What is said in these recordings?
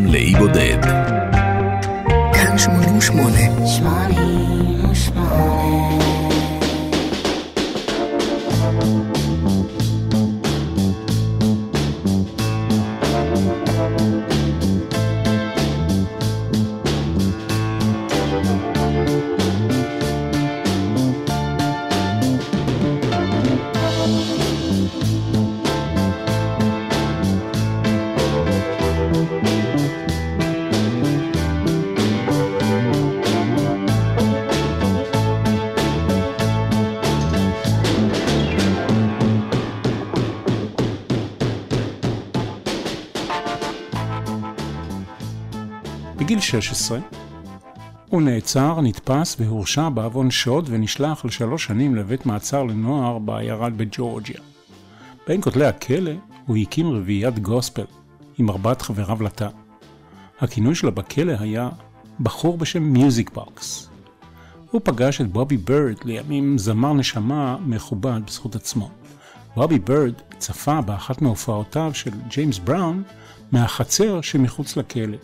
לאי בודד. כאן 88. בגיל 16 הוא נעצר, נתפס והורשע בעוון שוד ונשלח ל3 שנים לבית מעצר לנוער בעיירה בג'ורג'יה. בין כותלי הכלא הוא הקים רביעיית גוספל עם 4 חבריו לתא. הכינוי שלה בכלא היה בחור בשם מיוזיק בוקס. הוא פגש את בובי בירד, לימים זמר נשמה מכובד בזכות עצמו. בובי בירד צפה באחת מהופעותיו של ג'יימס בראון מהחצר שמחוץ לכלא.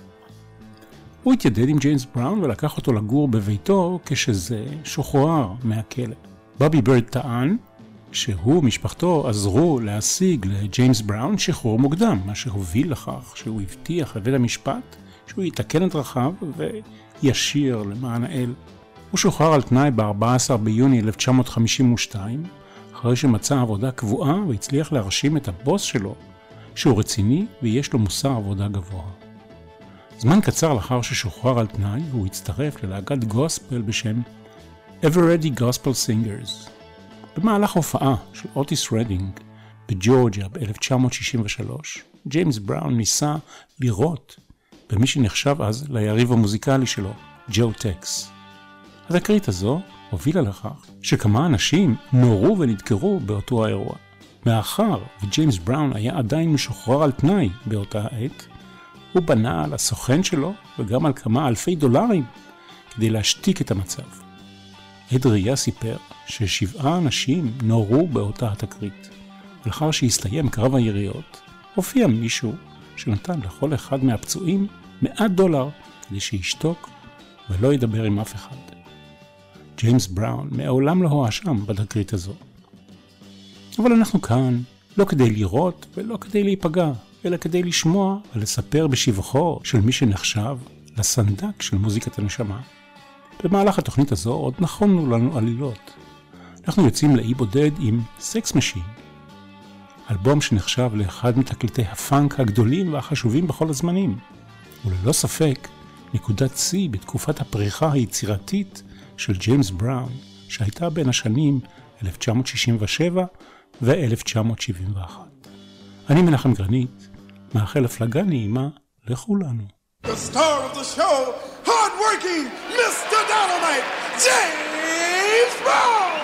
הוא התיידד עם ג'יימס בראון ולקח אותו לגור בביתו כשזה שוחרר מהכלא. בובי בירד טען שהוא ומשפחתו עזרו להשיג לג'יימס בראון שחרור מוקדם, מה שהוביל לכך שהוא הבטיח לבית המשפט שהוא יתקן את דרכיו וישיר למען האל. הוא שוחרר על תנאי ב-14 ביוני 1952, אחרי שמצא עבודה קבועה והצליח להרשים את הבוס שלו שהוא רציני ויש לו מוסר עבודה גבוה. זמן קצר לאחר ששוחרר על תנאי, הוא הצטרף ללהקת גוספל בשם Everready Gospel Singers. במהלך הופעה של אוטיס רדינג בג'ורג'יה ב-1963, ג'יימס בראון ניסה לירות במי שנחשב אז ליריב המוזיקלי שלו, ג'ו טקס. התקרית הזו הובילה לכך שכמה אנשים נורו ונדקרו באותו האירוע. מאחר וג'יימס בראון היה עדיין משוחרר על תנאי באותה העת, הוא בנה על הסוכן שלו וגם על כמה אלפי דולרים כדי להשתיק את המצב. עד ראייה סיפר ש7 אנשים נורו באותה התקרית. ולאחר שהסתיים קרב היריות, הופיע מישהו שנתן לכל אחד מהפצועים $100 כדי שישתוק ולא ידבר עם אף אחד. ג'יימס בראון מעולם לא הואשם בתקרית הזו. אבל אנחנו כאן לא כדי לראות ולא כדי להיפגע, אלא כדי לשמוע ולספר בשבחו של מי שנחשב לסנדק של מוזיקת הנשמה. במהלך התוכנית הזו עוד נכונו לנו עלילות. אנחנו יוצאים לאי בודד עם סקס משין, אלבום שנחשב לאחד מתקליטי הפאנק הגדולים והחשובים בכל הזמנים, וללא ספק נקודת שיא בתקופת הפריחה היצירתית של ג'יימס בראון, שהייתה בין השנים 1967 ו-1971. אני מנחם גרנית, מאחל הפלגה נעימה לכולנו. The star of the show, hard-working Mr. Dynamite, James Brown!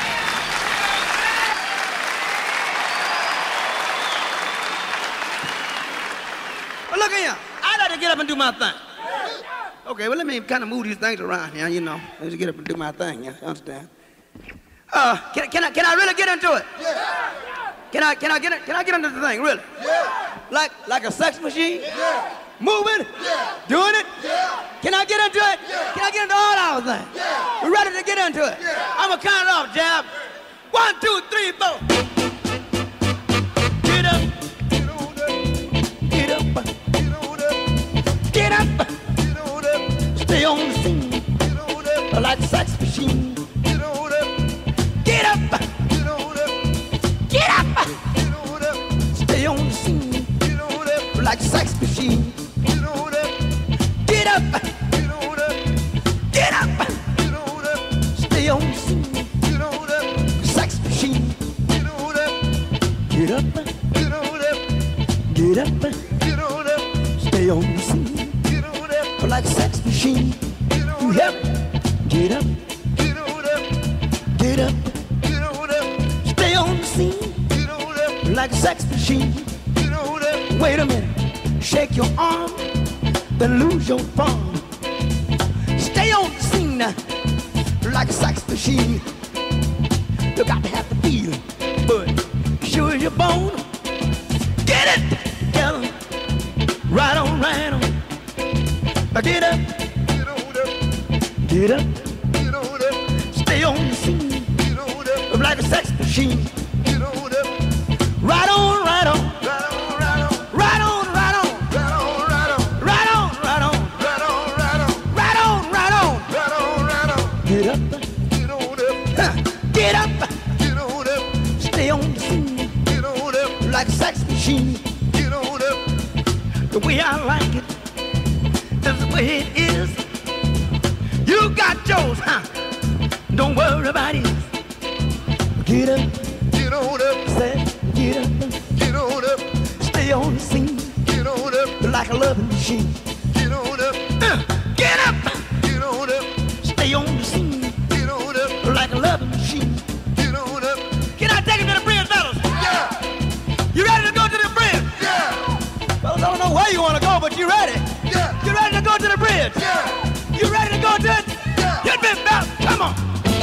Well, look here, I got to get up and do my thing. Okay, well, let me kind of move these things around here, you know. Let me get up and do my thing, you understand? Can I really get into it? Yeah. Can I get into the thing, really? Yeah. Like a sex machine? Yeah. Moving? Yeah. Doing it? Yeah. Can I get into it? Yeah. Can I get into all our things? Yeah. We're ready to get into it. Yeah. I'm gonna count it off, Jab. 1, 2, 3, 4. Get up. Get on up. Get up. Get on up. Get up. Get on up. Stay on the scene. Get on up. Like a sex machine. Get on up. Get up. Get on up. Get up. Get on up. Stay on the scene. Get on up. Like a sex machine. Get on up. Get up. Get on up. Get up. Get on up. Stay on the scene. Get on up. Sex machine. Get on up. Get up. Get on up. Get up. Get on up. Stay on the scene. Get on up. Like a sex machine. Get on up. Get up. Get on up. Get up. Get on up. Stay on the scene. Get on up. Like a sex machine. Get on up. Wait a minute. Shake your arm, then lose your form. Stay on the scene like a sex machine. You got to have the feeling, but sure as you're born. Get it together, right on, right on. Get up, get on up, get up, get on up, stay on the scene, get on up, like a sex machine, get on up, right on, right on, right on, right on, right on, right on, right on, right on, right on, right on, right on, right on, right on, right on, right on, get up, get on up, get up, get on up, stay on the scene, get on up, like a sex machine, get on up, the way I like it. That's the way it is. You got yours, huh? Don't worry about it. Get up, get on up, say, get on up, stay on the scene, get on up, like a loving machine, get on up, get up, get on up, stay on the scene, get on up, like a loving machine, get on up. Can I take it to the bridge, fellas? Yeah. You ready to go to the bridge? Yeah. Fellas, I don't know where you want to go, but you ready? Yeah. You ready to go to the bridge? Yeah. You ready to go to it? Yeah. Get me back. Come on.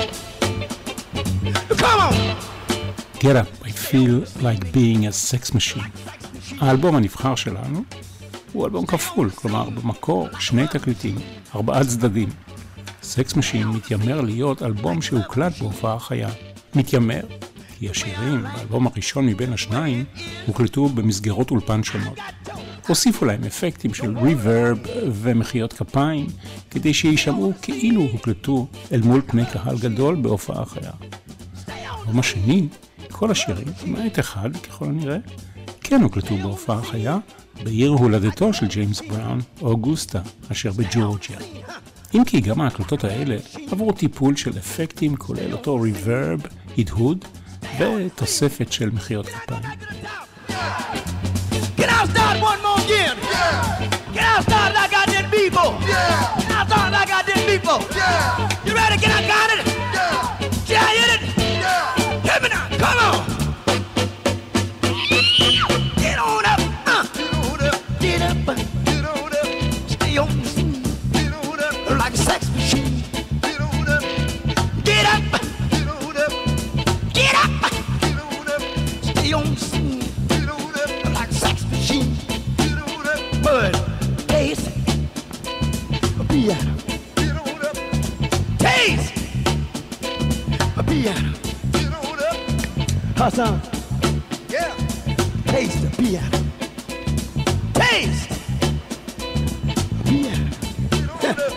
Come on. Get up, I feel like being a sex machine. האלבום הנבחר שלנו הוא אלבום כפול, כלומר במקור שני תקליטים, 4 צדדים. סקס משין מתיימר להיות אלבום שהוקלט בהופעה חיה. מתיימר, כי השירים באלבום הראשון מבין השניים הוקלטו במסגרות אולפן שונות. הוסיפו להם אפקטים של ריברב ומחיות כפיים, כדי שישמעו כאילו הוקלטו אל מול פני קהל גדול בהופעה חיה. באלבום השני, כל השירים, למעט אחד ככל הנראה, כן הוקלטו בהופעה חיה, בעיר הולדתו של ג'יימס בראון, אוגוסטה, אשר בג'ורג'יה. אם כי גם ההקלטות האלה עברו טיפול של אפקטים, כולל אותו ריברב, הדהוד ותוספת של מחיות כפיים. Can I start one more again? Yeah. Can I start like I did before? Yeah. Can I start like I did before? Yeah. You ready? Can I got it? Yeah. Can I hit it? Yeah. Hit me now. Come on. Get on up. Get on up. Get up. Get on up. Stay on the scene. Get on up. Like a sex machine. Get on up. Get up. Get on up. Get up. Get on up. Stay on the scene. Get on up. Like a sex machine. Get on up. Bud. Taste. A piano. Get on up. Taste. A piano. Get on up. Hassan. Yeah. Taste the piano. Taste. Piano. Get on up.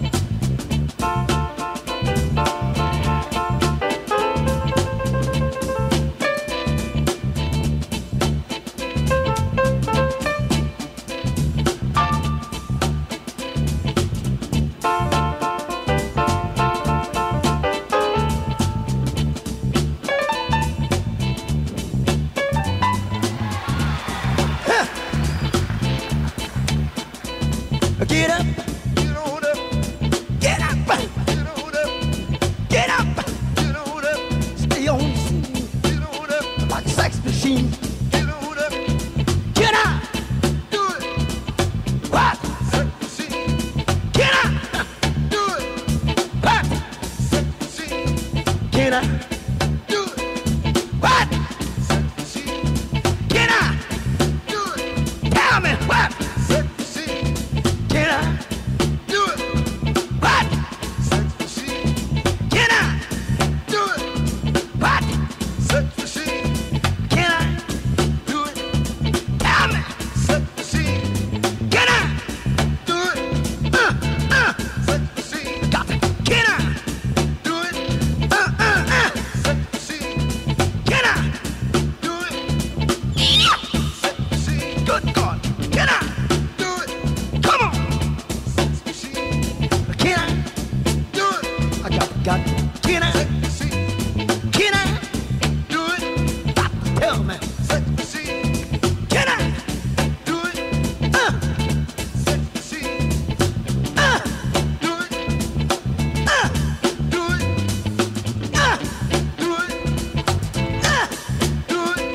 Get up, get on up, get up, get on up, get up, get on up, stay on the scene, get on up, like a sex machine, get on up, get up, do it, what, sex machine, get up, do it, what, sex machine, get up, do it, what, sex machine, get up, do it, tell me what. Can I do it? What? Sex machine. Can I do it? What? Sex machine. Can I do it? Tell me. Sex machine. Can I do it? Sex machine. Got it. Can I do it? Sex machine. Can I do it? Sex machine. Good God. Can I do it? Come on. Can I do it? I got it. Can I? Can I do it? Stop. Tell me. Can I do it? Do it. Do it. Do it. Do it. Do it. Do it.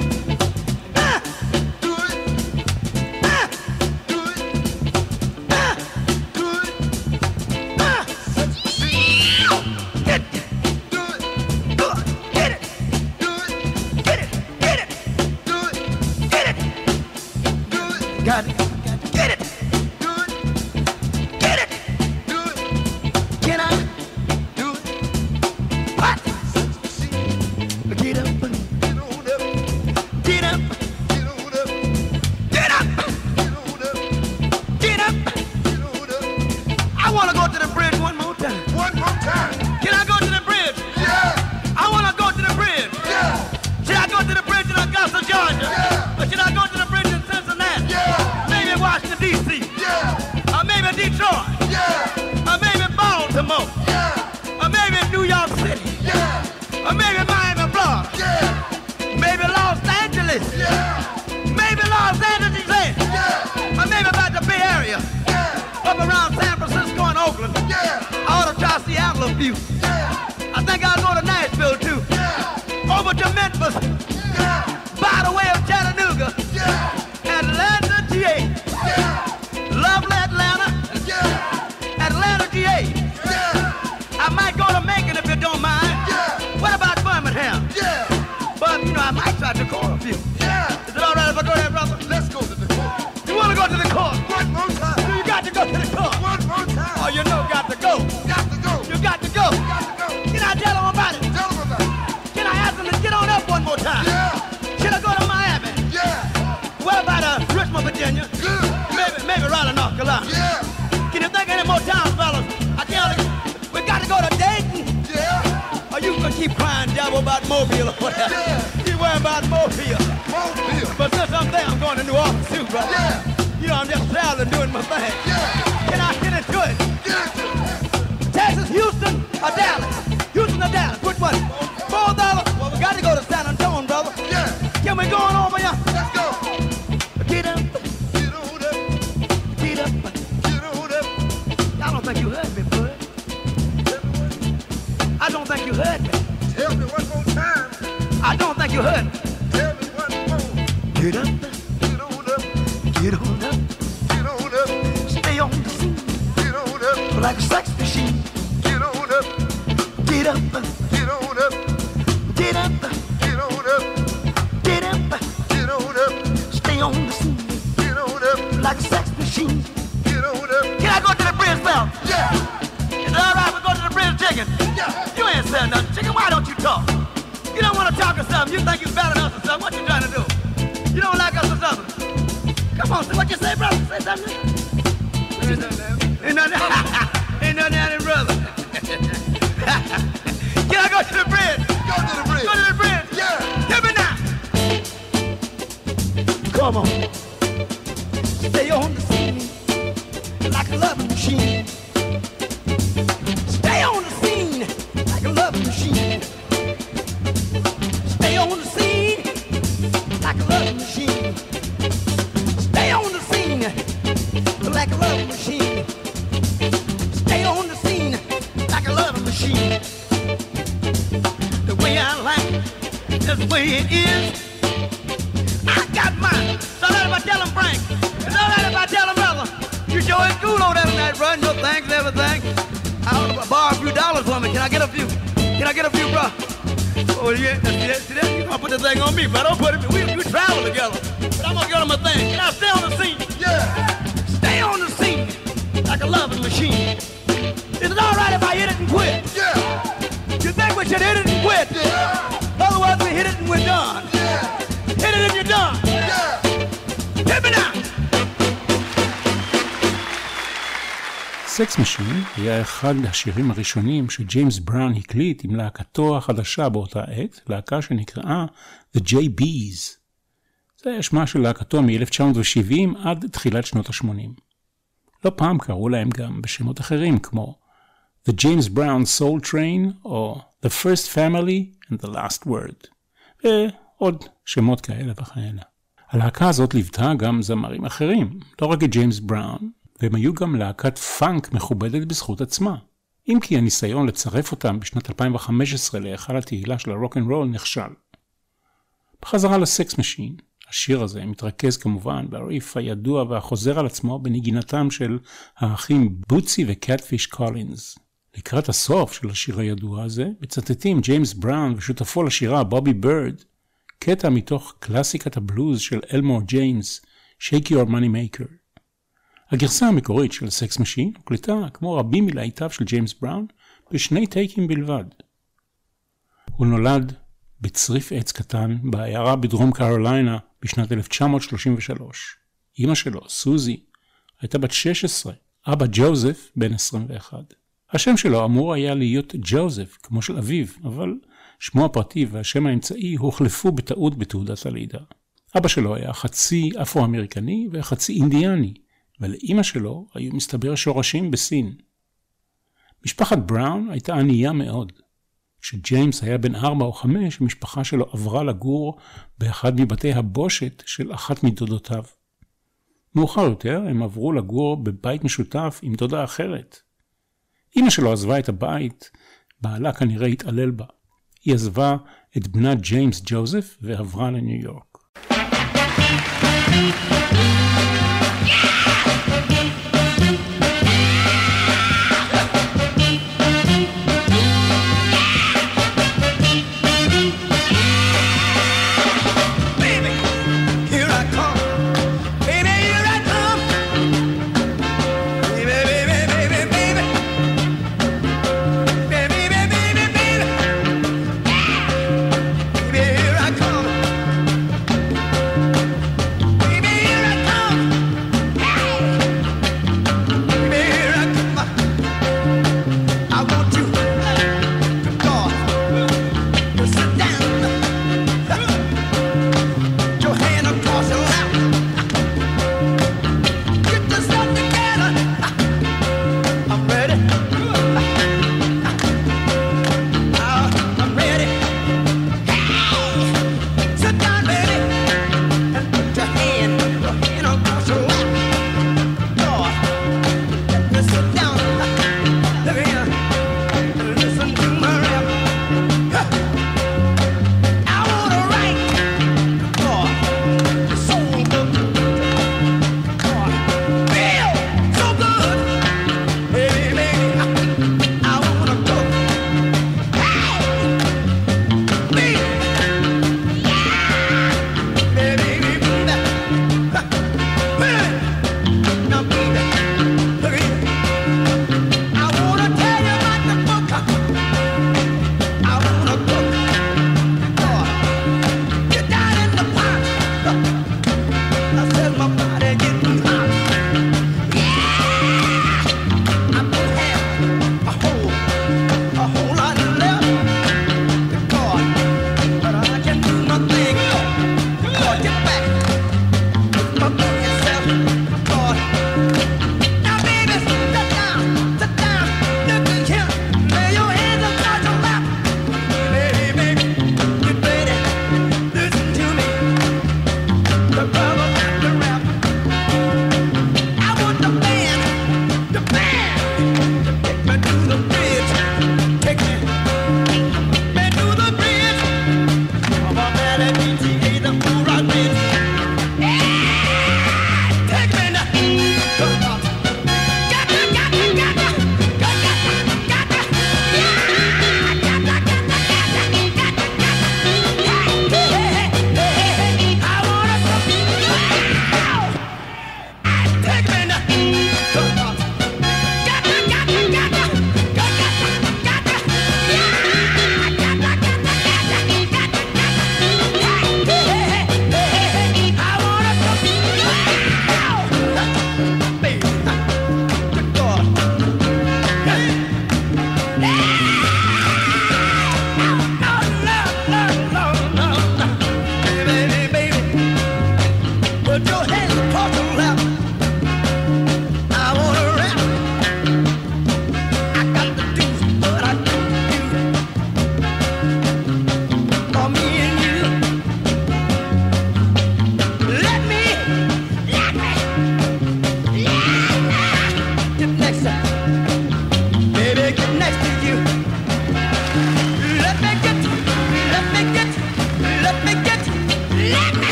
Got it. Get it. Do it. Get it. a few. I think I'll go to Nashville too. Over to Memphis. By the way of Chattanooga. Atlanta, GA. Lovely Atlanta. Atlanta, GA. I might go to Macon if you don't mind. What about Birmingham? But, you know, I might try to call a few. Is it all right if I go there, brother? Let's go to the court. You want to go to the court? One more time. You got to go to the court. One more time. Oh, you know, got to go. Got to go. You got to go. Got to go. Can I tell them about it? Tell them about it. Can I ask them to get on up one more time? Should I go to Miami? What about Richmond, Virginia? Good. Maybe Raleigh, North Carolina. Can you think of any more towns, fellas? I tell you, we got to go to Dayton. Or you can keep crying devil about Mobile or whatever. Keep worrying about Mobile. But since I'm there, I'm going to New Orleans too, brother. You know, I'm just traveling, doing my thing. Can I get into it? Texas, Houston, or Dallas? Houston or Dallas? Which one? $4. Well, we got to go to San Antonio, brother. Can we go on over here? Let's go. Get up. Get on up. Get up. Get on up. I don't think you heard me, bud. I don't think you heard me. Tell me one more time. I don't think you heard me. Tell me one more. Get up. Get on up. Get on up. Get on up. Stay on the scene. Get on up. Like a sex machine. Get on up. Get up. Get on up. Get up. Get on up. Get up. Get on up. Stay on the scene. Get on up. Like a sex machine. Get on up. Can I go to the bridge, Bell? Is it all right we go to the bridge, chicken? You ain't saying nothing, chicken. Why don't you talk? You don't want to talk or something. You think you're better than us or something. What you trying to do? You don't like us or something? Come on, what you say, brother? Say something. Ain't nothing. Ain't nothing happening, brother. Can I go to the bridge? Go to the bridge. Go to the bridge. Hit me now. Come on. Stay on the scene like a loving machine. Stay on the scene like a loving machine. Stay on the scene like a loving machine. Stay on the scene like a loving machine. Stay on the scene like a loving machine. The way I like it, that's the way it is. I got mine. It's all right if I tell him, Frank. It's all right if I tell him, brother. You sure is cool over there tonight, bro. No thanks and everything. I want to borrow a few dollars from me. Can I get a few? Can I get a few, bro? Oh, yeah. See that? You gonna put the thing on me, bro. Don't put it. We travel together. But I'm gonna get on my thing. Can I stay on the scene? Stay on the scene like a loving machine. Is it all right if I hit it and quit? You think we should hit it and quit? Otherwise, we hit it and we're done. Hit it and you're done. Hit me now. סקס משין היה אחד השירים הראשונים שג'יימס בראון הקליט עם להקתו החדשה באותה עת, להקה שנקראה The J.B.'s. זה היה שמה של להקתו מ-1970 עד תחילת שנות ה-80. לא פעם קראו להם גם בשמות אחרים כמו The James Brown Soul Train או The First Family and The Last Word. ועוד שמות כאלה וכאלה. הלהקה הזאת ליוותה גם זמרים אחרים, לא רק את ג'יימס בראון, והם היו גם להקת פאנק מכובדת בזכות עצמה. אם כי הניסיון לצרף אותם בשנת 2015 להיכל התהילה של הרוק אנד רול נכשל. בחזרה לסקס משין, השיר הזה מתרכז כמובן בריף הידוע והחוזר על עצמו בנגינתם של האחים בוטסי וקטפיש קולינס. לקראת הסוף של השיר הידוע הזה, מצטטים ג'יימס בראון ושותפו לשירה בובי בירד, קטע מתוך קלאסיקת הבלוז של אלמור ג'יימס, Shake Your Money Maker. הגרסה המקורית של סקס משין הוקלטה, כמו רבים מלהיטיו של ג'יימס בראון, בשני טייקים בלבד. הוא נולד בצריף עץ קטן בעיירה בדרום קרוליינה בשנת 1933. אמא שלו, סוזי, הייתה בת 16, אבא ג'וזף בן 21. השם שלו אמור היה להיות ג'וזף, כמו של אביו, אבל שמו הפרטי והשם האמצעי הוחלפו בטעות בתעודת הלידה. אבא שלו היה חצי אפרו-אמריקני וחצי אינדיאני, ולאמא שלו היו מסתבר שורשים בסין. משפחת בראון הייתה ענייה מאוד. כשג'יימס היה בן 4 או 5, המשפחה שלו עברה לגור באחד מבתי הבושת של אחת מדודותיו. מאוחר יותר הם עברו לגור בבית משותף עם דודה אחרת. אמא שלו עזבה את הבית, בעלה כנראה התעלל בה. היא עזבה את בנה ג'יימס ג'וזף ועברה לניו יורק.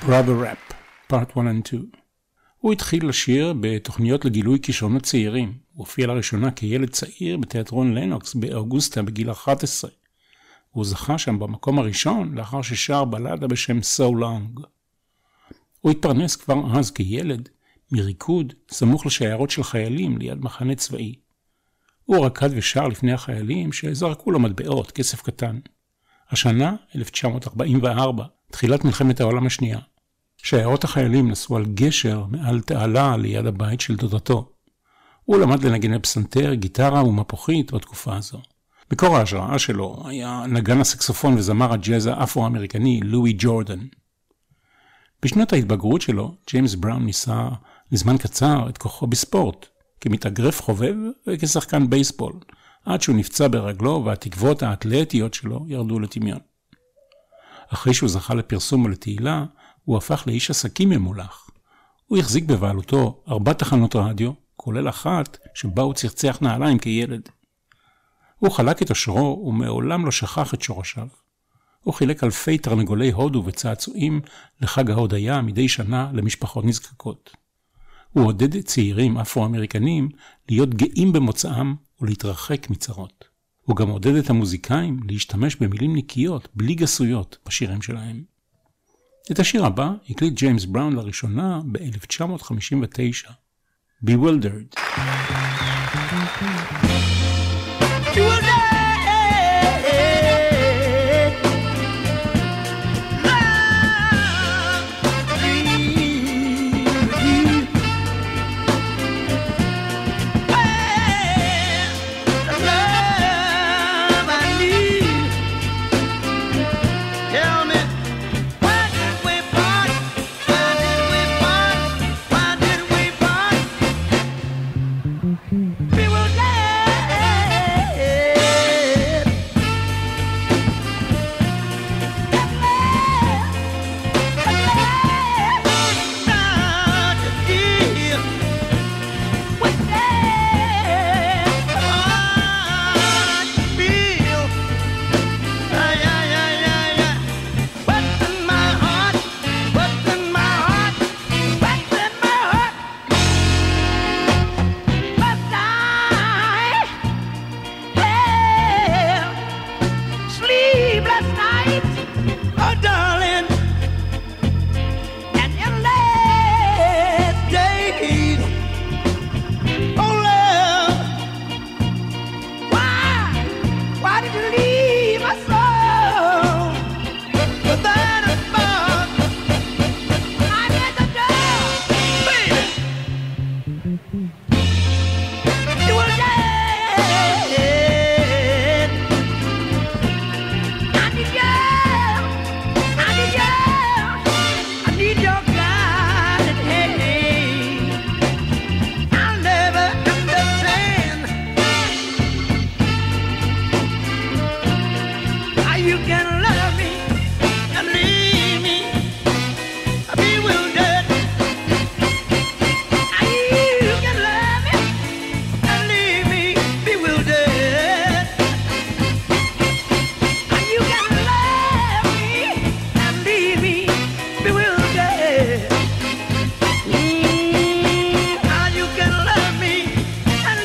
Brother Rap, Part 1 and 2. הוא התחיל לשיר בתוכניות לגילוי כישרונות צעירים. הוא הופיע לראשונה כילד צעיר בתיאטרון לנוקס באוגוסטה בגיל 11. הוא זכה שם במקום הראשון לאחר ששר בלדה בשם So Long. הוא התפרנס כבר אז כילד מריקוד סמוך לשיירות של חיילים ליד מחנה צבאי. הוא רקד ושר לפני החיילים שזרקו לו מטבעות, כסף קטן. השנה, 1944, תחילת מלחמת העולם השנייה. שיירות החיילים נסו על גשר מעל תעלה ליד הבית של דודתו. הוא למד לנגן בפסנתר, גיטרה ומפוחית בתקופה הזו. מקור ההשראה שלו היה נגן הסקסופון וזמר הג'אז האפרו-אמריקני לואי ג'ורדן. בשנות ההתבגרות שלו, ג'יימס בראון ניסה לזמן קצר את כוחו בספורט, כמתאגרף חובב וכשחקן בייסבול, עד שהוא נפצע ברגלו והתקוות האתלטיות שלו ירדו לטמיון. אחרי שהוא זכה לפרסום ולתהילה, הוא הפך לאיש עסקים ממולח. הוא החזיק בבעלותו 4 תחנות רדיו, כולל אחת שבה הוא צחצח נעליים כילד. הוא חלק את עושרו ומעולם לא שכח את שורשיו. הוא חילק אלפי תרנגולי הודו וצעצועים לחג ההודיה מדי שנה למשפחות נזקקות. הוא עודד צעירים אפרו-אמריקנים להיות גאים במוצאם ולהתרחק מצרות. הוא גם עודד את המוזיקאים להשתמש במילים נקיות, בלי גסויות, בשירים שלהם. את השיר הבא הקליט ג'יימס בראון לראשונה ב-1959. Bewildered.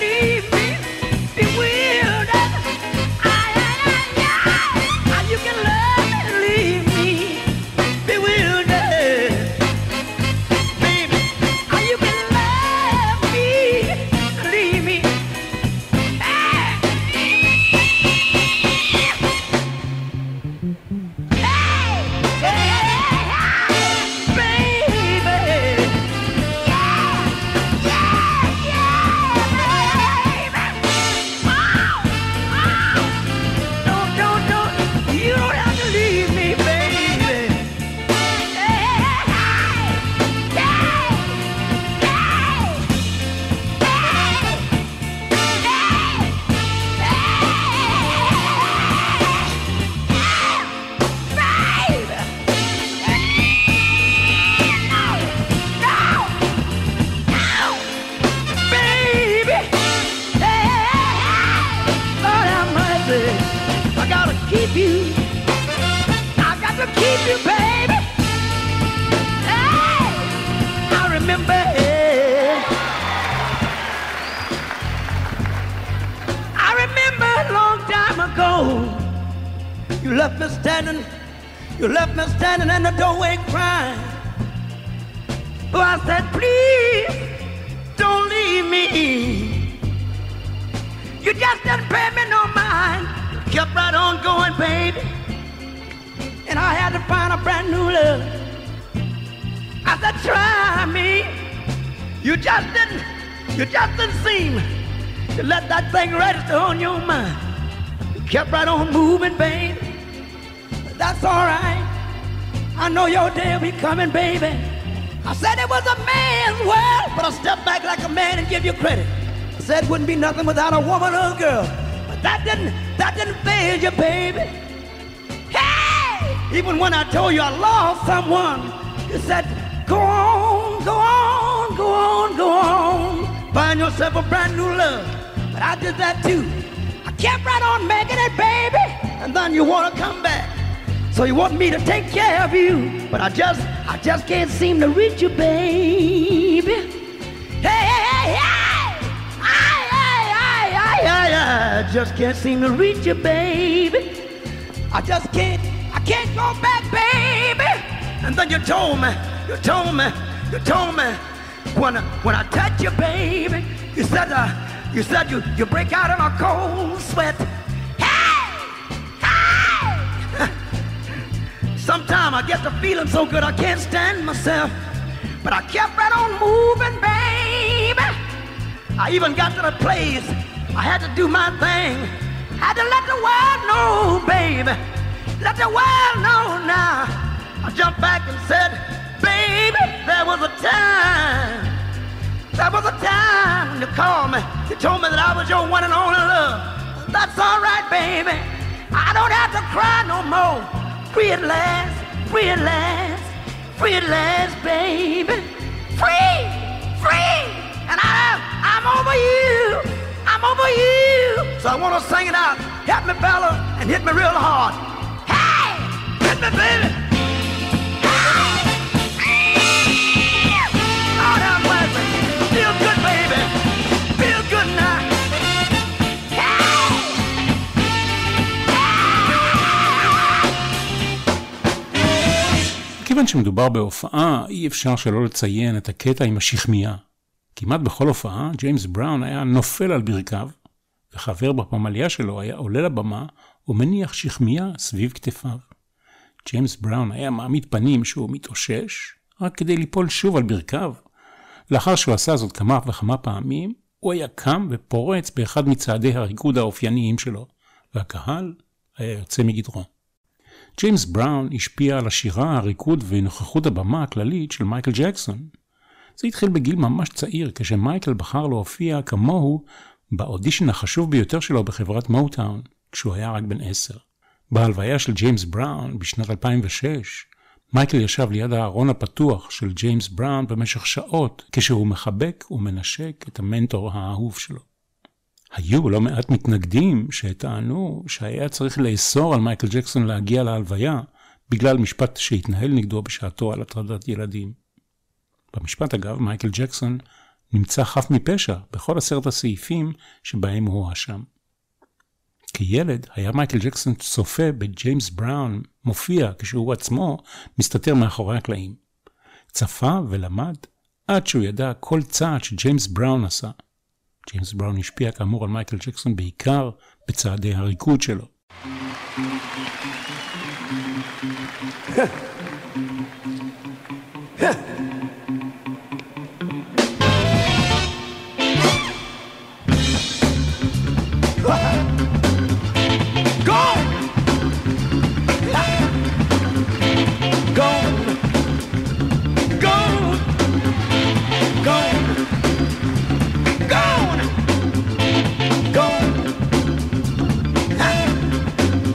You can You left me standing in the doorway crying. So I said, please don't leave me. You just didn't pay me no mind. Kept right on going, baby. And I had to find a brand new love. I said, try me. You just didn't seem to let that thing register on your mind. You kept right on moving, baby. But that's all right. I know your day will be coming, baby. I said it was a man's world, but I stepped back like a man and give you credit. I said it wouldn't be nothing without a woman or a girl. But that didn't faze you, baby. Hey! Even when I told you I lost someone, you said, go on, go on, go on, go on. Find yourself a brand new love. But I did that too. I kept right on making it, baby. And then you want to come back. So you want me to take care of you. But I just can't seem to reach you, baby. Hey, hey, hey, hey! I just can't seem to reach you, baby. I can't go back, baby. And then you told me, when I touch you, baby, you said you break out in a cold sweat. Hey! Hey! Sometimes I get the feeling so good I can't stand myself. But I kept right on moving, baby. I even got to the place I had to do my thing. Had to let the world know, baby. Let the world know now. I jumped back and said, baby, there was a time when you called me. You told me that I was your one and only love. That's all right, baby. I don't have to cry no more. Free at last, free at last, free at last, baby. Free, free. And I'm over you. I'm over you. So I want to sing it out. Hit me, fella, and hit me real hard. Hey, hit me, baby. Lord have mercy. Feel good, baby. Feel good now. כיוון שמדובר בהופעה, אי אפשר שלא לציין את הקטע עם השכמיה. כמעט בכל הופעה, ג'יימס בראון היה נופל על ברכיו, וחבר בפמליה שלו היה עולה לבמה ומניח שכמיה סביב כתפיו. ג'יימס בראון היה מעמיד פנים שהוא מתאושש, רק כדי ליפול שוב על ברכיו. לאחר שהוא עשה זאת כמה וכמה פעמים, הוא היה קם ופורץ באחד מצעדי הריקוד האופייניים שלו, והקהל היה יוצא מגדרו. ג'יימס בראון השפיע על השירה, הריקוד ונוכחות הבמה הכללית של מייקל ג'קסון. זה התחיל בגיל ממש צעיר, כשמייקל בחר להופיע כמוהו באודישן החשוב ביותר שלו בחברת מוטאון, כשהוא היה רק בן 10. בהלוויה של ג'יימס בראון בשנת 2006, מייקל ישב ליד הארון הפתוח של ג'יימס בראון במשך שעות, כשהוא מחבק ומנשק את המנטור האהוב שלו. היו לא מעט מתנגדים שטענו שהיה צריך לאסור על מייקל ג'קסון להגיע להלוויה, בגלל משפט שהתנהל נגדו בשעתו על הטרדת ילדים. במשפט אגב, מייקל ג'קסון נמצא חף מפשע בכל 10 הסעיפים שבהם הוא הואשם. כילד היה מייקל ג'קסון צופה בג'יימס בראון מופיע כשהוא עצמו מסתתר מאחורי הקלעים. צפה ולמד עד שהוא ידע כל צעד שג'יימס בראון עשה. ג'יימס בראון השפיע כאמור על מייקל ג'קסון בעיקר בצעדי הריקוד שלו.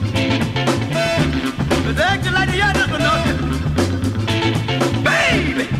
Baby,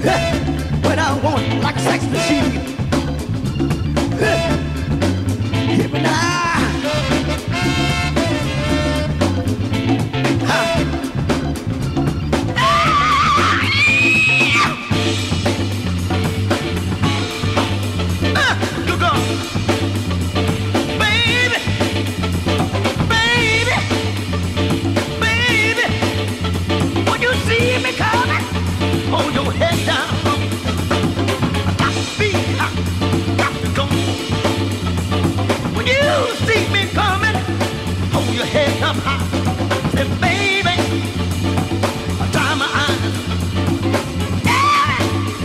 when I want like a sex machine. Hear me now. Hold your head down. Got to be, got to go. When you see me coming, hold your head up high. Say, baby, I'll dry my eyes. Yeah,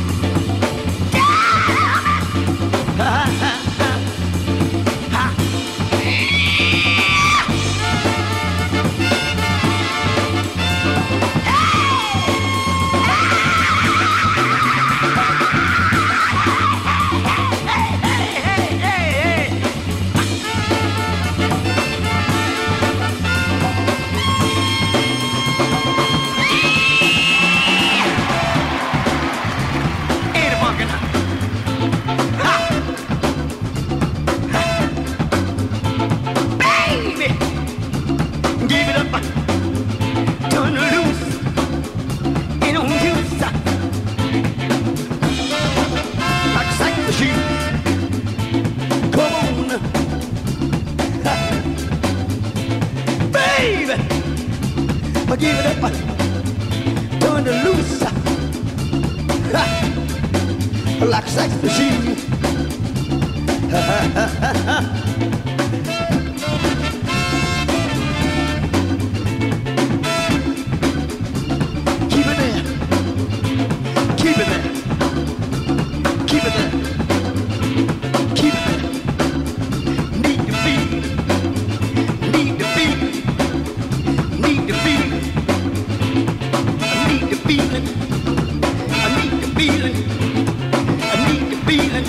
give it up, turn it loose, like a sex machine. Keep it there, keep it there, keep it there, keep it there. Need to feel, need to feel, need to feel. Feeling, I need the feeling, I need the feeling.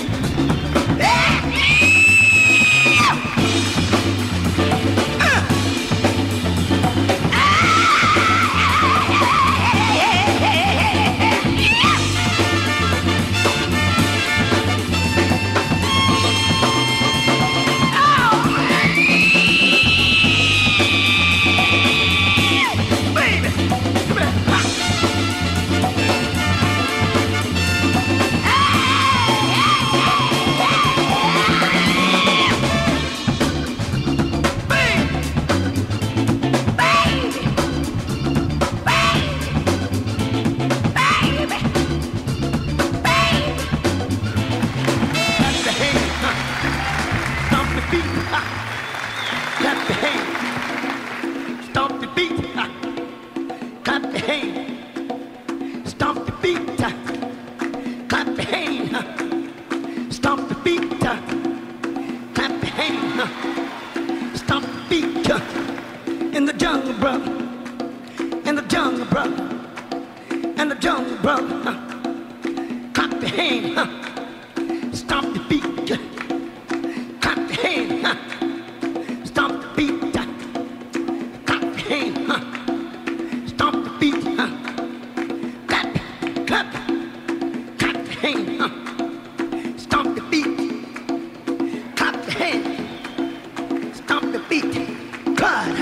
In the jungle, brother, in the jungle, brother, in the jungle, brother, clap your hand, stomp the beat, clap your hand, stomp the beat, clap your hand, stomp the beat, clap, clap, clap your hand, stomp the beat, clap your hand, stomp the beat, God.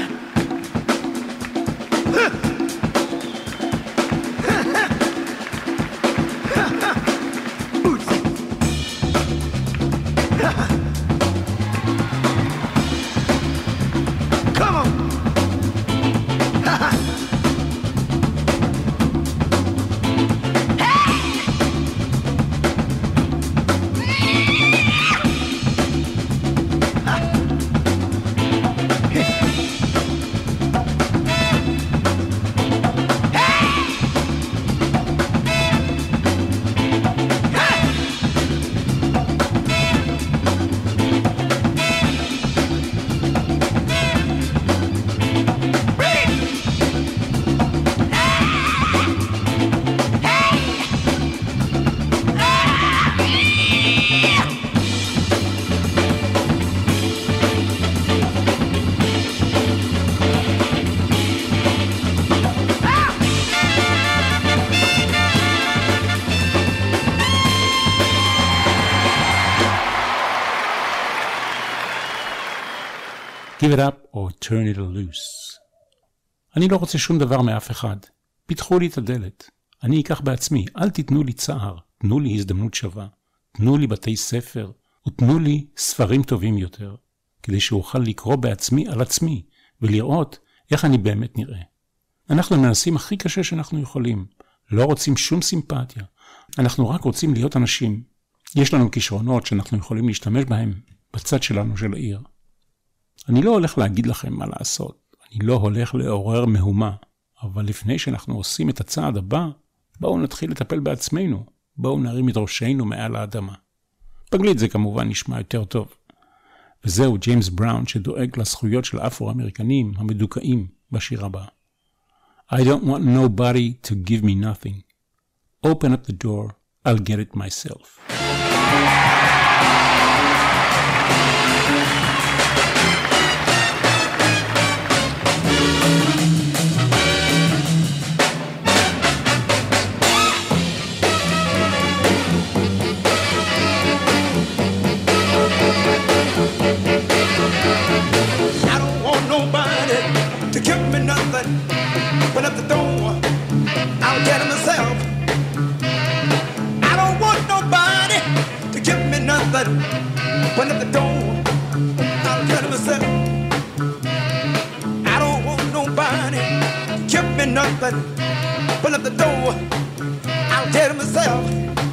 Come on. Give it up or turn it loose. אני לא רוצה שום דבר מאף אחד. פתחו לי את הדלת. אני אקח בעצמי. אל תיתנו לי צער. תנו לי הזדמנות שווה. תנו לי בתי ספר. ותנו לי ספרים טובים יותר. כדי שאוכל לקרוא בעצמי על עצמי. ולראות איך אני באמת נראה. אנחנו מנסים הכי קשה שאנחנו יכולים. לא רוצים שום סימפתיה. אנחנו רק רוצים להיות אנשים. יש לנו כישרונות שאנחנו יכולים להשתמש בהם בצד שלנו של העיר. אני לא הולך להגיד לכם מה לעשות. אני לא הולך לעורר מהומה. אבל לפני שאנחנו עושים את הצעד הבא, בואו נתחיל לטפל בעצמנו. בואו נרים את ראשנו מעל האדמה. באנגלית זה כמובן נשמע יותר טוב. וזהו ג'יימס בראון שדואג לזכויות של אפרו-אמריקנים המדוכאים בשיר הבא. I don't want nobody to give me nothing. Open up the door, I'll get it myself. Open up the door, I'll get it myself. I don't want nobody to give me nothing. Open up the door, I'll get it myself. I don't want nobody to give me nothing. Open up the door, I'll get it myself.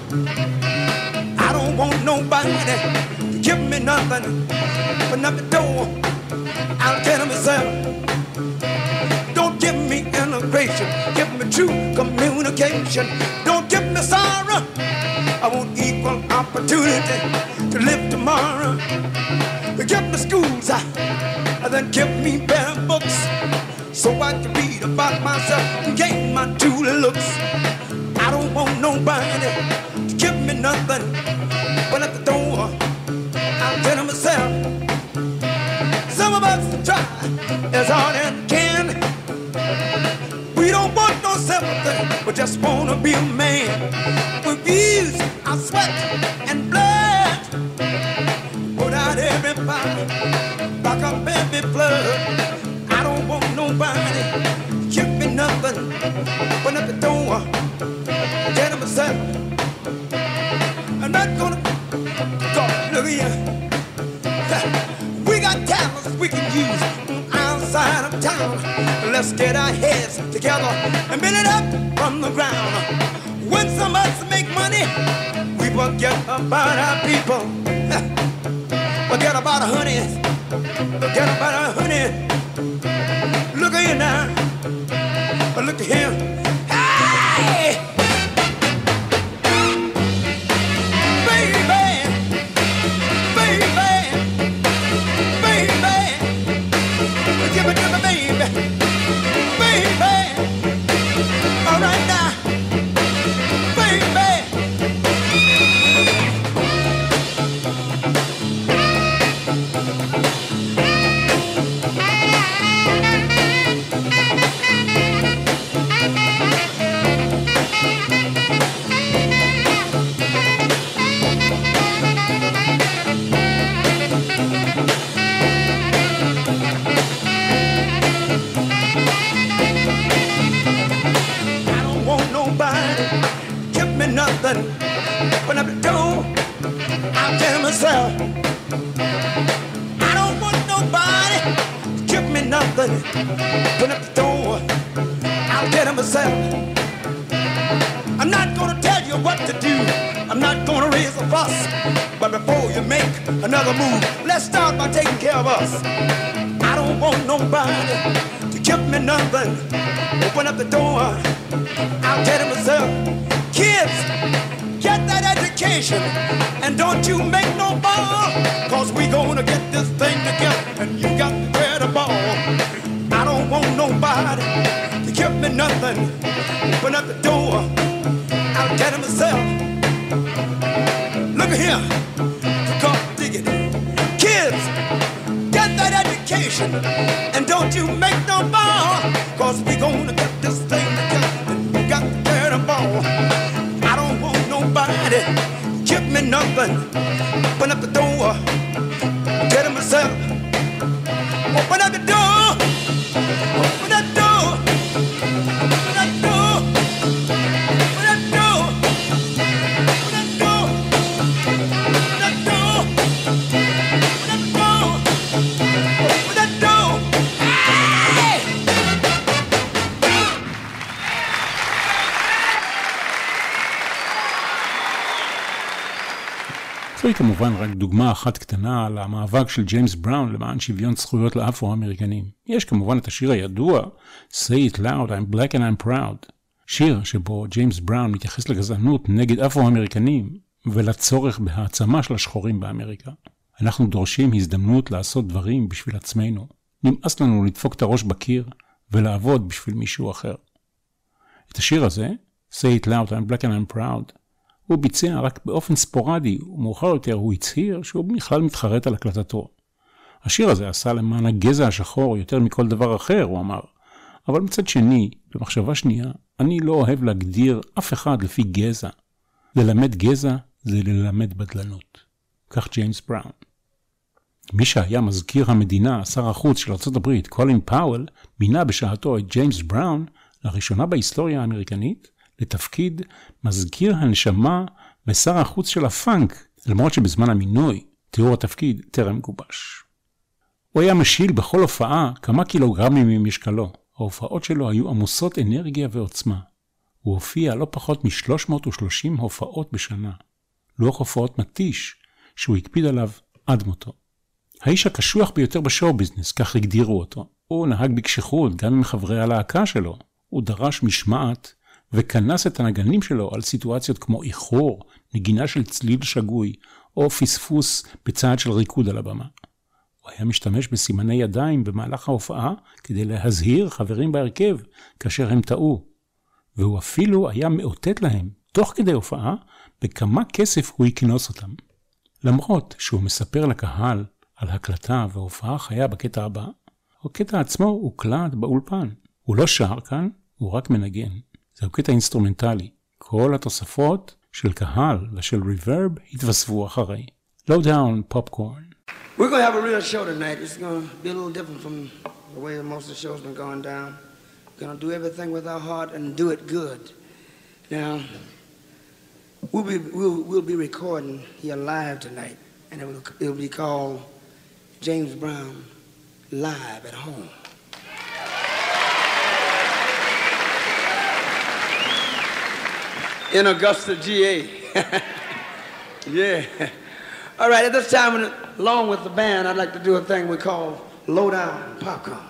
I don't want nobody to give me nothing. Open up the door, I'll get it myself. Give me integration, give me true communication. Don't give me sorrow, I want equal opportunity to live tomorrow. Give me schools, and then give me better books, so I can read about myself and gain my true looks. I don't want nobody to give me nothing, but at the door, I'll tell myself. Some of us try as hard as can. We don't want no sympathy, we just wanna be a man. We've used our sweat and blood, put out every fight, back up every flood. I don't want nobody, give me nothing. Open up the door, get him myself. I'm not gonna talk, look at you. We got talents we can use outside of town. Let's get our heads together and build it up from the ground. When some of us make money, we forget about our people. Forget about our honey. Forget about our honey. Look at you now. Look at him. Hey! Open up the door, I'll tell myself. I don't want nobody to give me nothing. Open up the door, I'll tell myself. I'm not gonna tell you what to do, I'm not gonna raise a fuss. But before you make another move, let's start by taking care of us. I don't want nobody to give me nothing. Open up the door, I'll tell myself. Kids, get that education, and don't you make no ball, cause we gonna get this thing together, and you got to wear the ball. I don't want nobody to give me nothing. Open up the door, I'll get it myself. Look at here, come dig it. Kids, get that education, and don't you make no ball, cause we gonna get this thing together, and you got to wear the ball. Nobody give me nothing. Open up the door, get it myself. זוהי כמובן רק דוגמה אחת קטנה על המאבק של ג'יימס בראון למען שוויון זכויות לאפרו-אמריקנים. יש כמובן את השיר הידוע, Say it loud, I'm black and I'm proud. שיר שבו ג'יימס בראון מתייחס לגזענות נגד אפרו-אמריקנים ולצורך בהעצמה של השחורים באמריקה. אנחנו דורשים הזדמנות לעשות דברים בשביל עצמנו. נמאס לנו לדפוק את הראש בקיר ולעבוד בשביל מישהו אחר. את השיר הזה, Say it loud, I'm black and I'm proud, הוא ביצע רק באופן ספורדי, ומאוחר יותר הוא הצהיר שהוא בכלל מתחרט על הקלטתו. השיר הזה עשה למען הגזע השחור יותר מכל דבר אחר, הוא אמר. אבל מצד שני, במחשבה שנייה, אני לא אוהב להגדיר אף אחד לפי גזע. ללמד גזע זה ללמד בדלנות. כך ג'יימס בראון. מי שהיה מזכיר המדינה, שר החוץ של ארצות הברית, קולין פאוול, מינה בשעתו את ג'יימס בראון, לראשונה בהיסטוריה האמריקנית, לתפקיד מזכיר הנשמה ושר החוץ של הפאנק, למרות שבזמן המינוי, תיאור התפקיד טרם גובש. הוא היה משיל בכל הופעה כמה קילוגרמים ממשקלו. ההופעות שלו היו עמוסות אנרגיה ועוצמה. הוא הופיע לא פחות מ-330 הופעות בשנה. לוח הופעות מתיש שהוא הקפיד עליו עד מותו. האיש הקשוח ביותר בשואו ביזנס, כך הגדירו אותו. הוא נהג בקשיחות גם עם חברי הלהקה שלו. הוא דרש משמעת וכנס את הנגנים שלו על סיטואציות כמו איחור, נגינה של צליל שגוי, או פספוס בצעד של ריקוד על הבמה. הוא היה משתמש בסימני ידיים במהלך ההופעה כדי להזהיר חברים בהרכב כאשר הם טעו. והוא אפילו היה מאותת להם, תוך כדי הופעה, בכמה כסף הוא יקנוס אותם. למרות שהוא מספר לקהל על הקלטה וההופעה חיה בקטע הבא, הקטע עצמו הוקלט באולפן. הוא לא שר כאן, הוא רק מנגן. זהו קטע אינסטרומנטלי. כל התוספות של קהל ושל ריברב התווספו אחרי. Low down popcorn. We're going to have a real show tonight. It's going to be a little different from the way most of the show's been going down. We're going to do everything with our heart and do it good. Now, we'll be recording here live tonight, and it'll be called James Brown Live at Home. In Augusta, GA. Yeah. All right, at this time, along with the band, I'd like to do a thing we call Low Down Popcorn.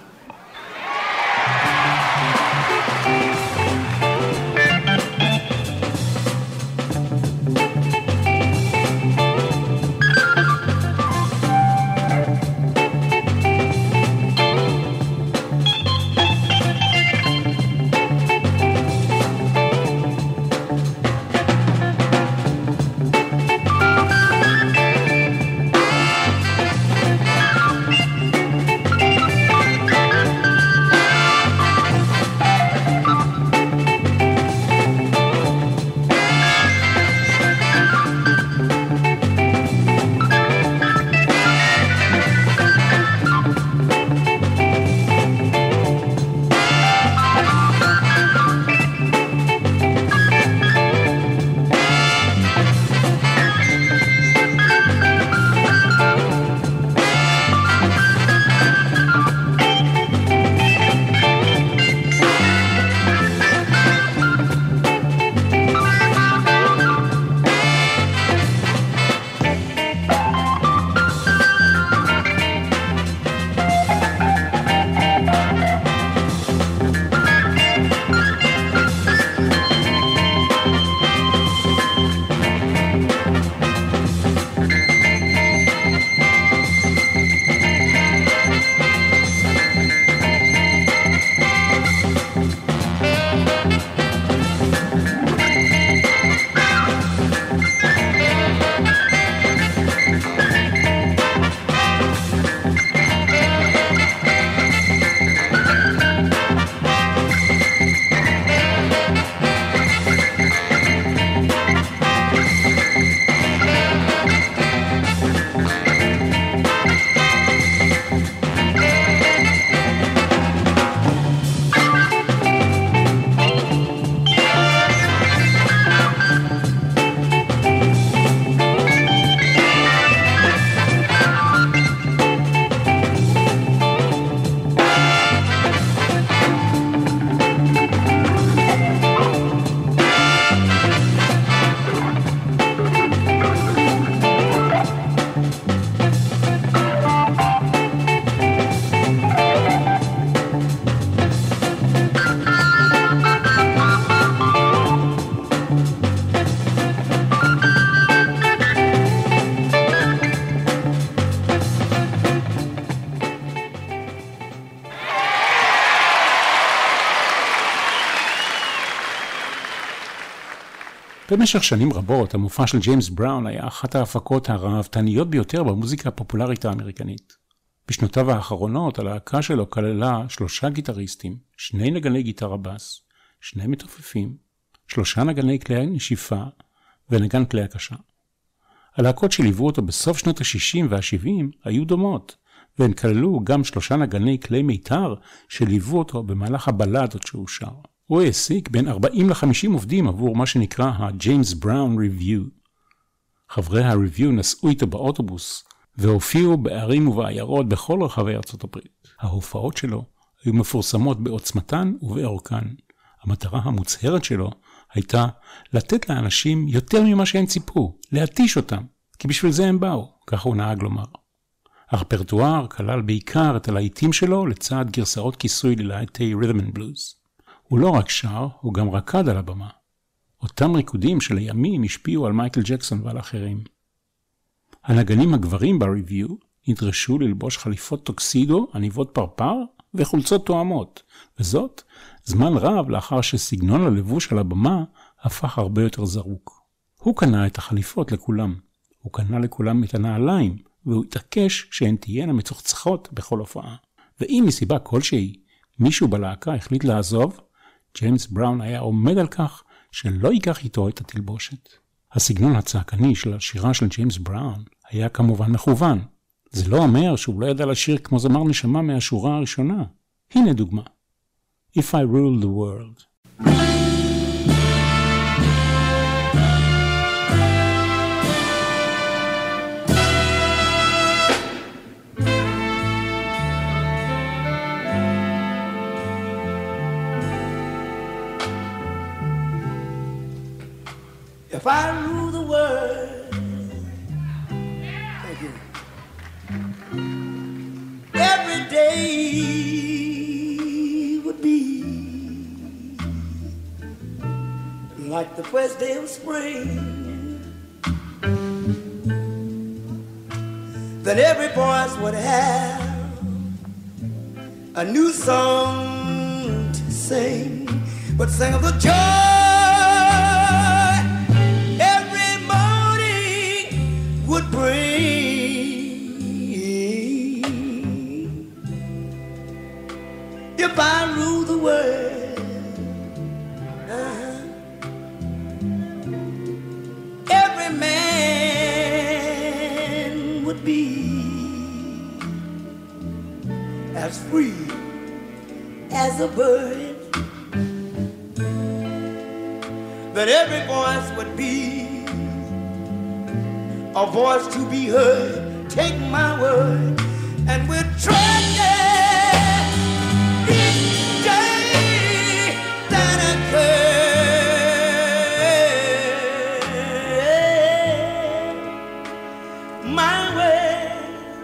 במשך שנים רבות, המופע של ג'יימס בראון היה אחת ההפקות הרהבתניות ביותר במוזיקה הפופולרית האמריקנית. בשנותיו האחרונות, הלהקה שלו כללה 3 גיטריסטים, 2 נגני גיטרה בס, 2 מתופפים, 3 נגני כלי נשיפה ונגן כלי הקשה. הלהקות שליוו אותו בסוף שנות ה-60 וה-70 היו דומות, והן כללו גם 3 נגני כלי מיתר שליוו אותו במהלך הבלדות שהוא שר. הוא העסיק בין 40 ל-50 עובדים עבור מה שנקרא ה-James Brown Review. חברי ה-Review נסעו איתו באוטובוס והופיעו בערים ובעיירות בכל רחבי ארצות הברית. ההופעות שלו היו מפורסמות בעוצמתן ובאורכן. המטרה המוצהרת שלו הייתה לתת לאנשים יותר ממה שהם ציפו, להתיש אותם, כי בשביל זה הם באו, כך הוא נהג לומר. הרפרטואר כלל בעיקר את הלהיטים שלו לצד גרסאות כיסוי ללהיטי Rhythm and Blues. הוא לא רק שר, הוא גם רקד על הבמה. אותם ריקודים שלימים השפיעו על מייקל ג'קסון ועל אחרים. הנגנים הגברים בריוויו נדרשו ללבוש חליפות טוקסידו, עניבות פרפר וחולצות תואמות, וזאת זמן רב לאחר שסגנון הלבוש על הבמה הפך הרבה יותר זרוק. הוא קנה את החליפות לכולם. הוא קנה לכולם את הנעליים, והוא התעקש שהן תהיינה מצוחצחות בכל הופעה. ואם מסיבה כלשהי מישהו בלהקה החליט לעזוב, ג'יימס בראון היה עומד על כך שלא ייקח איתו את התלבושת. הסגנון הצעקני של השירה של ג'יימס בראון היה כמובן מכוון. זה לא אומר שהוא לא ידע לשיר כמו זמר נשמה מהשורה הראשונה. הנה דוגמה. If I Rule the World. If I rule the world, thank you. Every day would be like the first day of spring. Then every voice would have a new song to sing, but sing of the joy would bring. If I rule the world, every man would be as free as a bird. That every voice would be a voice to be heard. Take my word, and we're tracking each day that occurs. My world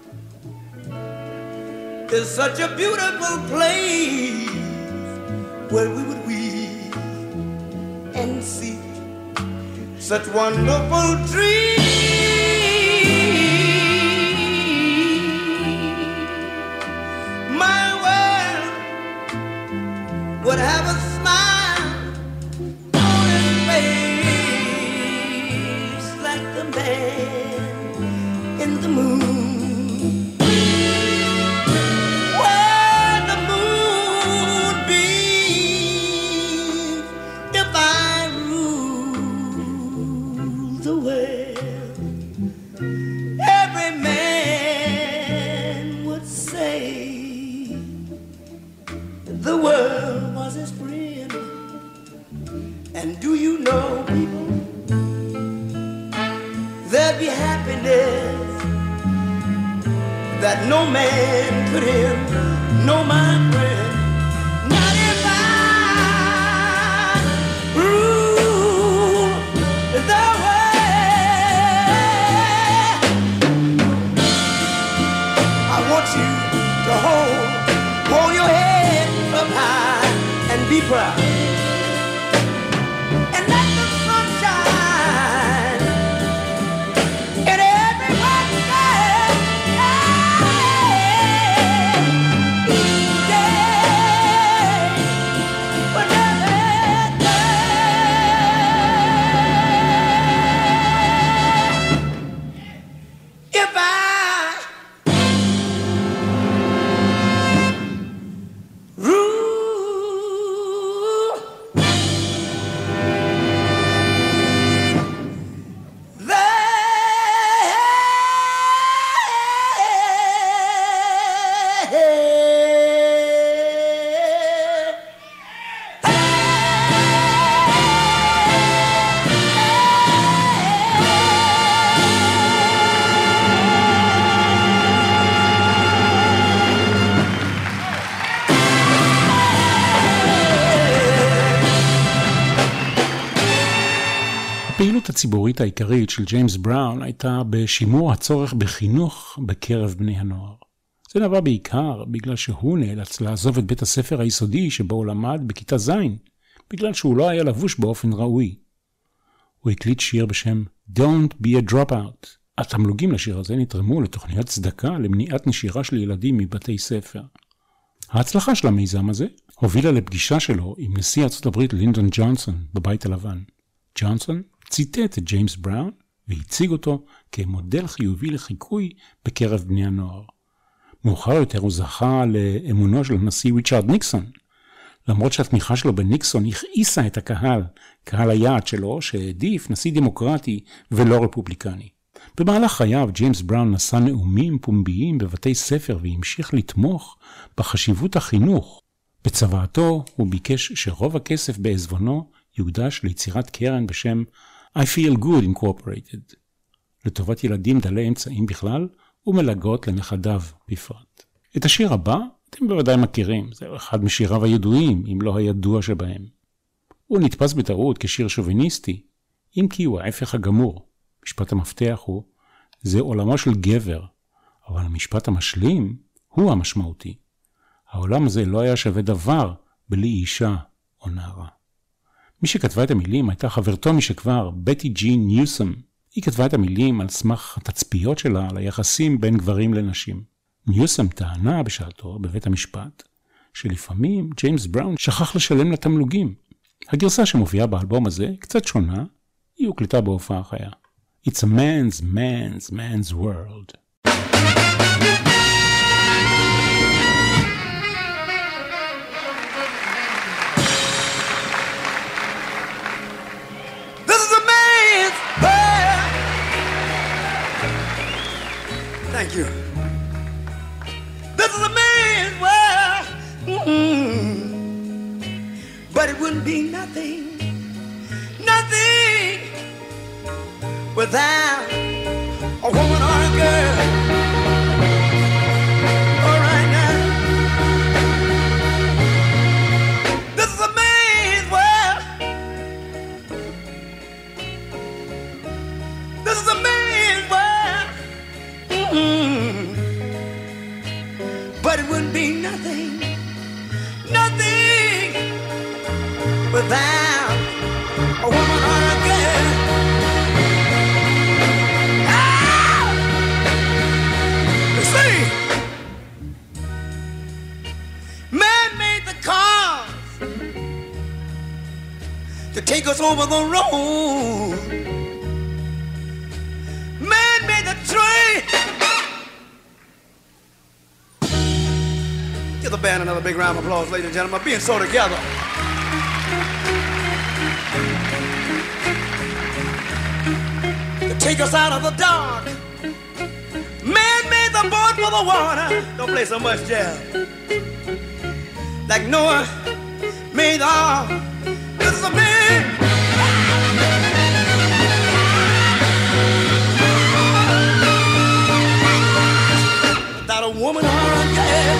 is such a beautiful place where we would weave and see such wonderful dreams. My world would have a smile on his face like the man in the moon. Where the moon beams, if I the world, every man would say the world was his friend. And do you know, people, there'd be happiness that no man could end. No, my friend, not if I rule the world. I want you to hold your head up high and be proud. And let the sun shine in everyone's life. Each day, but never day. המשמעות הציבורית העיקרית של ג'יימס בראון הייתה בשימור הצורך בחינוך בקרב בני הנוער. זה נבע בעיקר בגלל שהוא נאלץ לעזוב את בית הספר היסודי שבו הוא למד בכיתה ז', בגלל שהוא לא היה לבוש באופן ראוי. הוא הקליט שיר בשם Don't be a dropout. התמלוגים לשיר הזה נתרמו לתוכניות צדקה למניעת נשירה של ילדים מבתי ספר. ההצלחה של המיזם הזה הובילה לפגישה שלו עם נשיא ארצות הברית לינדון ג'ונסון בבית הלבן. ג'ונסון ציטט את ג'יימס בראון והציג אותו כמודל חיובי לחיקוי בקרב בני הנוער. מאוחר יותר הוא זכה לאמונו של הנשיא ריצ'רד ניקסון, למרות שהתמיכה שלו בניקסון הכעיסה את הקהל, קהל היעד שלו שהעדיף נשיא דמוקרטי ולא רפובליקני. במהלך חייו ג'יימס בראון נשא נאומים פומביים בבתי ספר והמשיך לתמוך בחשיבות החינוך. בצוואתו הוא ביקש שרוב הכסף בעזבונו יוקדש ליצירת קרן בשם I Feel Good Incorporated, לטובת ילדים דלי אמצעים בכלל ומלגות לנכדיו בפרט. את השיר הבא אתם בוודאי מכירים, זה אחד משיריו הידועים, אם לא הידוע שבהם. הוא נתפס בטעות כשיר שוביניסטי, אם כי הוא ההפך הגמור. משפט המפתח הוא, זה עולמו של גבר, אבל המשפט המשלים הוא המשמעותי. העולם הזה לא היה שווה דבר בלי אישה או נערה. מי שכתבה את המילים הייתה חברתו משכבר, בטי ג'ין ניוסום. היא כתבה את המילים על סמך התצפיות שלה על היחסים בין גברים לנשים. ניוסום טענה בשעתו בבית המשפט, שלפעמים ג'יימס בראון שכח לשלם לתמלוגים. הגרסה שמופיעה באלבום הזה קצת שונה, היא הוקלטה בהופעה חיה. It's a man's world. This is a man's world. Thank you. This is a man's world. But it wouldn't be nothing without a woman or a girl. All right now. This is a man's world. This is a man's world. But it wouldn't be nothing without a woman or a girl. Man made the cars to take us over the road. Man made the train. Give the band another big round of applause, ladies and gentlemen, being so together. To take us out of the dark. Man made the boat for the water. Don't play so much jazz. Like Noah made the ark. This is a man. Without a woman or a girl.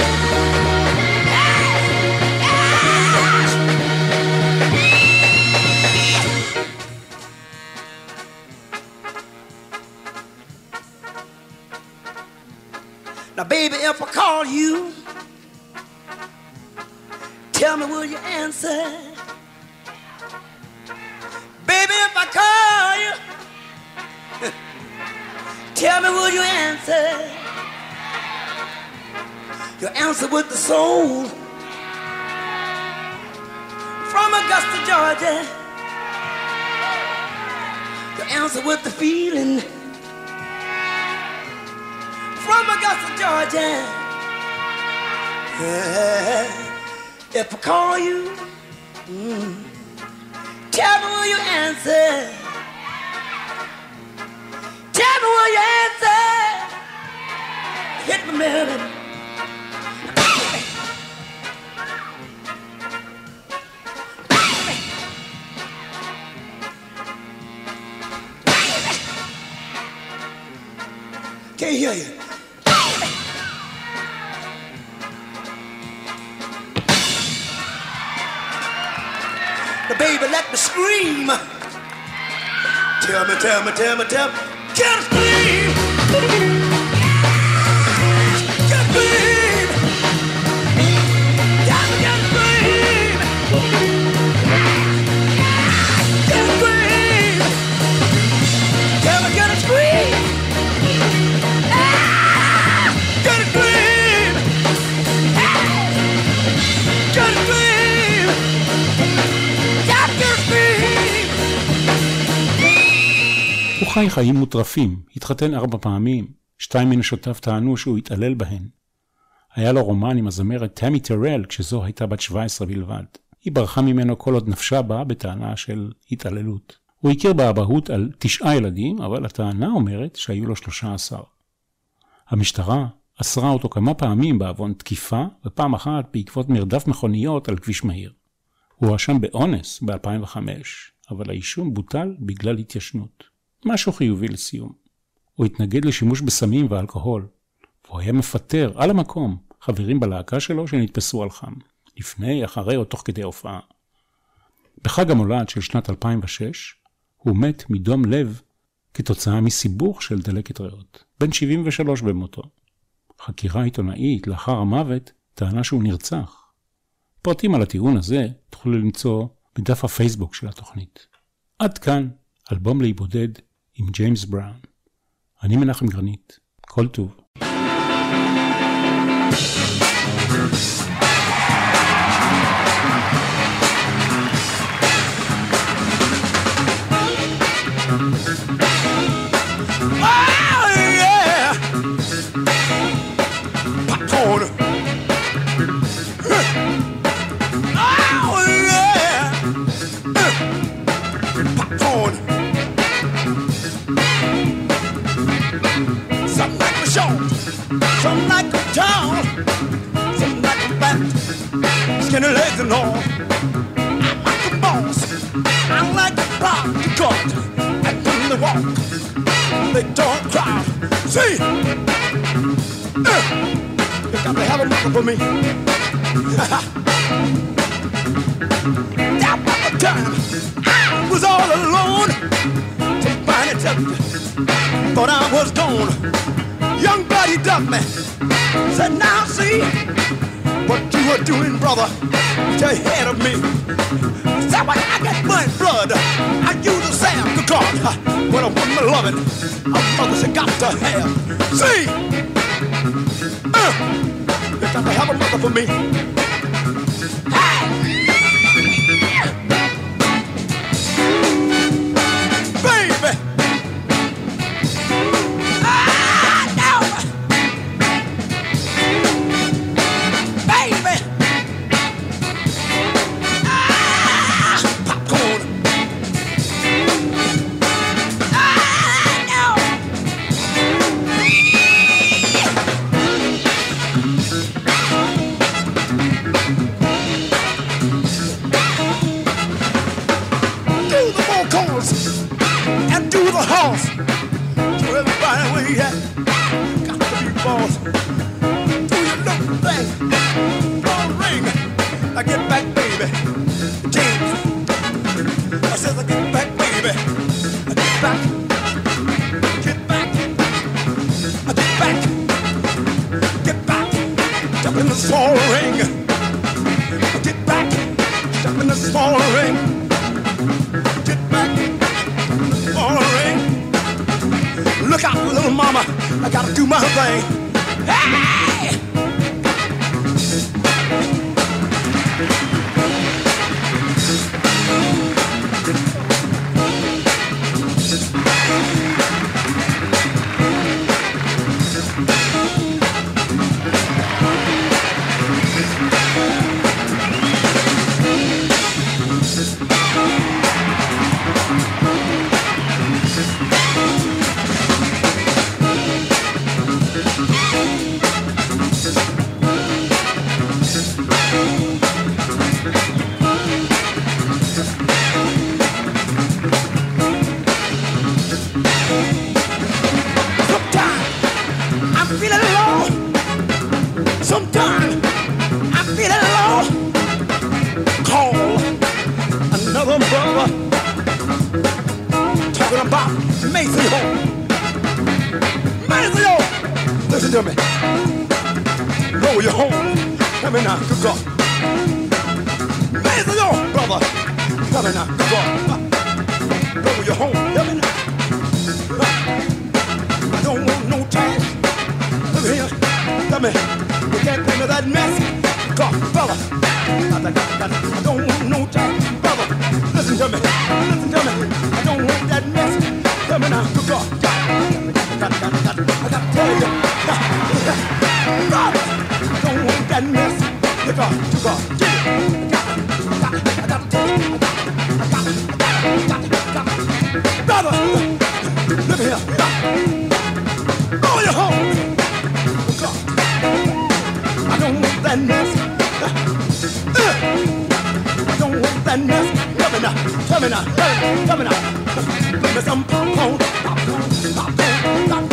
Now, baby, if I call you, tell me, will you answer? Baby, if I call you, tell me, will you answer? You answer with the soul. From Augusta, Georgia. You answer with the feeling. From Augusta, Georgia. If I call you, tell me will you answer? Tell me will you answer? Hit me, baby. Can't hear you. Baby, let me scream Tell me, can't scream. Can't scream. Can't scream. Can't scream. Tell me, can I scream? Can I scream? Can I scream? Can I scream? הוא חי חיים מוטרפים, התחתן 4 פעמים, 2 מנשותיו טענו שהוא התעלל בהן. היה לו רומן עם הזמרת תמי טרל כשזו הייתה בת 17 בלבד. היא ברחה ממנו כל עוד נפשה בה בטענה של התעללות. הוא הכיר באבהות על 9 ילדים, אבל הטענה אומרת שהיו לו 13. המשטרה אסרה אותו כמה פעמים בעוון תקיפה, ופעם אחת בעקבות מרדף מכוניות על כביש מהיר. הוא הואשם באונס ב-2005, אבל האישום בוטל בגלל התיישנות. משהו חיובי לסיום. הוא התנגד לשימוש בסמים ואלכוהול, והוא היה מפטר על המקום חברים בלהקה שלו שנתפסו על חם, לפני, אחרי או תוך כדי הופעה. בחג המולד של שנת 2006, הוא מת מדום לב כתוצאה מסיבוך של דלקת ריאות, בן 73 במותו. חקירה עיתונאית לאחר המוות טענה שהוא נרצח. פרטים על הטיעון הזה תוכלו למצוא בדף הפייסבוק של התוכנית. עד כאן אלבום להיבודד עם ג'יימס בראון. אני מנחם גרנית, כל טוב. Some like a tall, some like a fat, skinny legs and all. I like the boss, I like the block, the cut, and when they walk, they don't cry. See, you got to have a mother for me. That was the time I was all alone. Somebody took me, thought I was gone. Young buddy ducked me, said, now see what you were doing, brother, to ahead of me. Said, when I get my blood, I use a Sam the God. When a woman loving, a mother she got to have. See, you got to have a mother for me. Hey! Baby! And do the horse. So everybody where you at, got to be boss. Do your little thing, blow a ring. I get back, baby. James. I said I get back, baby. I get back. Get back. I get back. Get back. Jump in the small ring. I get back. Jump in the small ring. Look out, little mama, I gotta do my thing. Hey! talking about Maceo. Maceo, listen to me. Roll your home. Come in now, good God. Maceo, brother. Come in now, good God. Roll your home. Come in now. I don't want no time. Look here. Let me. You can't bring me that mess. God, brother. I don't want no time. Brother, listen to me. Listen to me. I don't want that mess. Come in now, good God. I got to tell you. Brother, I don't want that mess. Good God, good God. I got to tell you. Brother, look here. Go your home. Good God. I don't want that mess. I don't want that mess. Tell me now, tell me now. Give me some popcorn, popcorn, popcorn, popcorn.